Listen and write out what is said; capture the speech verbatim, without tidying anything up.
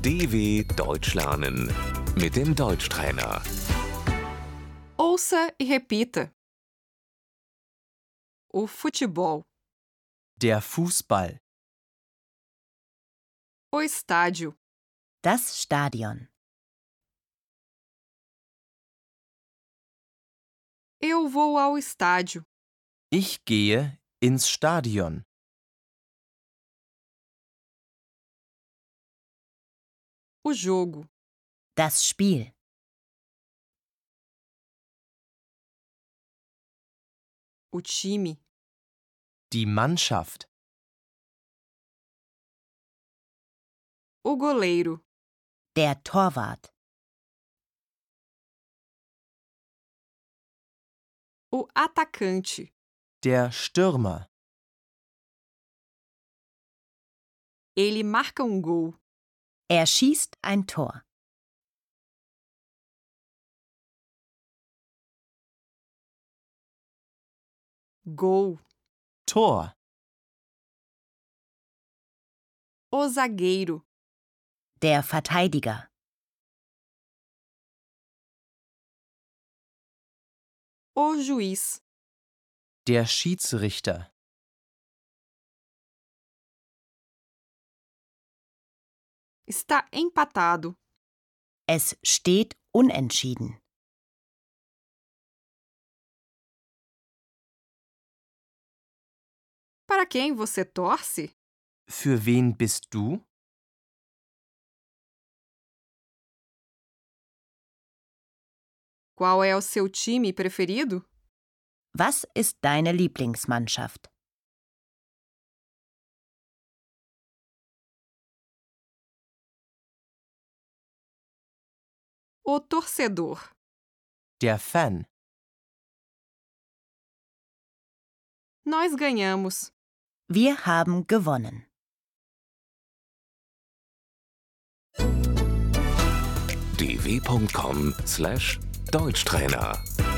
D W Deutsch lernen mit dem Deutschtrainer. Ouça e repita. O futebol, Der Fußball, o estádio, Das Stadion. eu vou ao estádio, ich gehe ins Stadion, o jogo, Das Spiel. o time, die Mannschaft, o goleiro, Der Torwart. o atacante, der Stürmer, ele marca um gol, Er schießt ein Tor. gol, Tor, o zagueiro, Der Verteidiger. o juiz, der Schiedsrichter, está empatado, Es steht unentschieden. para quem você torce? für wen bist du? Qual é o seu time preferido? Was ist deine Lieblingsmannschaft? O torcedor, Der Fan, nós ganhamos. Wir haben gewonnen. d w punkt com slash Deutschtrainer